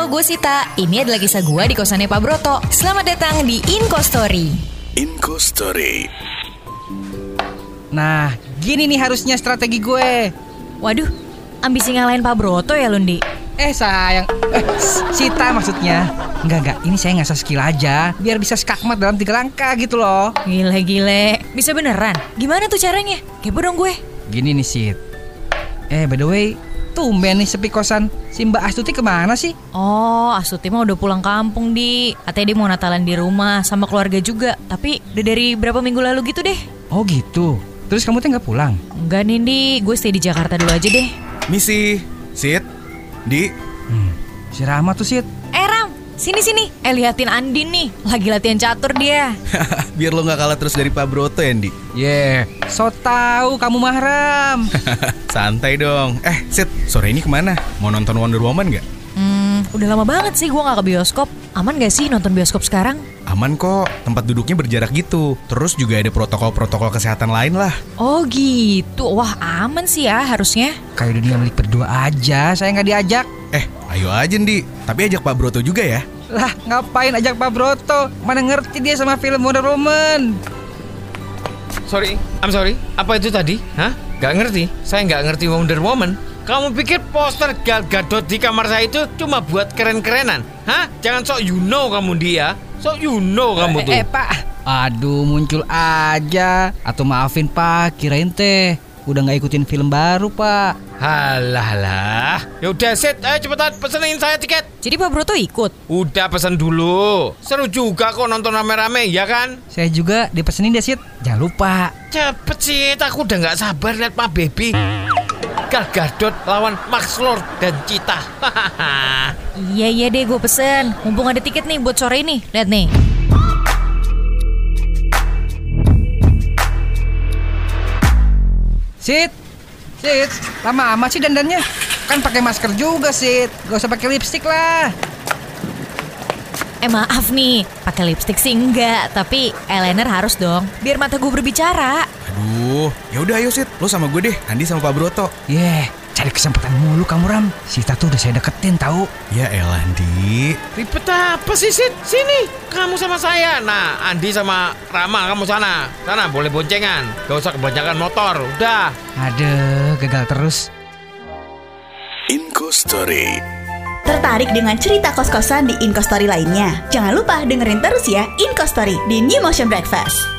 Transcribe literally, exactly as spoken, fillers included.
Halo, gue Sita. Ini adalah kisah gue di kosannya Pak Broto. Selamat datang di Inko Story. Inko Story. Nah, gini nih harusnya strategi gue. Waduh, ambisi ngalahin Pak Broto ya, Lundi? Eh sayang, eh, Sita maksudnya. Enggak, enggak, ini saya ngasah skill aja biar bisa skakmat dalam tiga langkah gitu loh. Gile-gile, bisa beneran? Gimana tuh caranya? Kepo dong gue. Gini nih Sit. Eh by the way, tumben nih sepi kosan. Si Mbak Astuti kemana sih? Oh, Astuti mah udah pulang kampung, Di. Katanya dia mau Natalan di rumah sama keluarga juga. Tapi udah dari berapa minggu lalu gitu deh. Oh gitu. Terus kamu tuh gak pulang? Enggak nih, Di. Gue stay di Jakarta dulu aja deh. Misi, Sit, Di. Hmm, si Rama tuh Sit. Eh Ram, sini-sini. Eh liatin Andin nih, lagi latihan catur dia. Biar lo gak kalah terus dari Pak Broto ya, Di. Yeah, so tau kamu mahram. Santai dong. Eh, Sit, sore ini kemana? Mau nonton Wonder Woman gak? Hmm, udah lama banget sih gue gak ke bioskop. Aman gak sih nonton bioskop sekarang? Aman kok, tempat duduknya berjarak gitu. Terus juga ada protokol-protokol kesehatan lain lah. Oh gitu, wah aman sih ya harusnya. Kayak dunia milik berdua aja, saya gak diajak. Eh, ayo aja, Di. Tapi ajak Pak Broto juga ya. Lah, ngapain ajak Pak Broto? Mana ngerti dia sama film Wonder Woman. Sorry, I'm sorry. Apa itu tadi? Hah? Gak ngerti. Saya gak ngerti Wonder Woman. Kamu pikir poster Gal Gadot di kamar saya itu cuma buat keren-kerenan? Hah? Jangan sok you know kamu dia. Sok you know kamu tuh. Eh, eh Pak. Aduh, muncul aja. Atau maafin Pak, kirain teh udah gak ikutin film baru Pak. Halah lah. Yaudah Sit, ayo cepetan pesenin saya tiket. Jadi Pak Broto ikut? Udah pesen dulu. Seru juga kok nonton rame-rame, ya kan? Saya juga dipesenin deh Sit. Jangan lupa. Cepet Sit, aku udah gak sabar lihat Pak Baby. Gal Gadot lawan Max Lord dan Cheetah. Iya iya deh, gue pesen. Mumpung ada tiket nih buat sore ini. Lihat nih. Sit, Sit, lama amat sih dandannya. Kan pakai masker juga Sit. Gak usah pakai lipstik lah. Eh maaf nih, pakai lipstik sih enggak, tapi eyeliner harus dong, biar mata gue berbicara. Aduh, ya udah ayo Sit, lo sama gue deh, Andi sama Pak Broto. Yeah, cari kesempatan mulu kamu Ram. Sita tuh udah saya deketin tahu. Ya elah, Andi. Ribet apa sih Sit? Sini, kamu sama saya. Nah, Andi sama Rama kamu sana. Sana boleh boncengan. Gak usah kebanyakan motor, udah. Aduh, gagal terus. Inko Story. Tertarik dengan cerita kos-kosan di Inko Story lainnya? Jangan lupa dengerin terus ya Inko Story di New Motion Breakfast.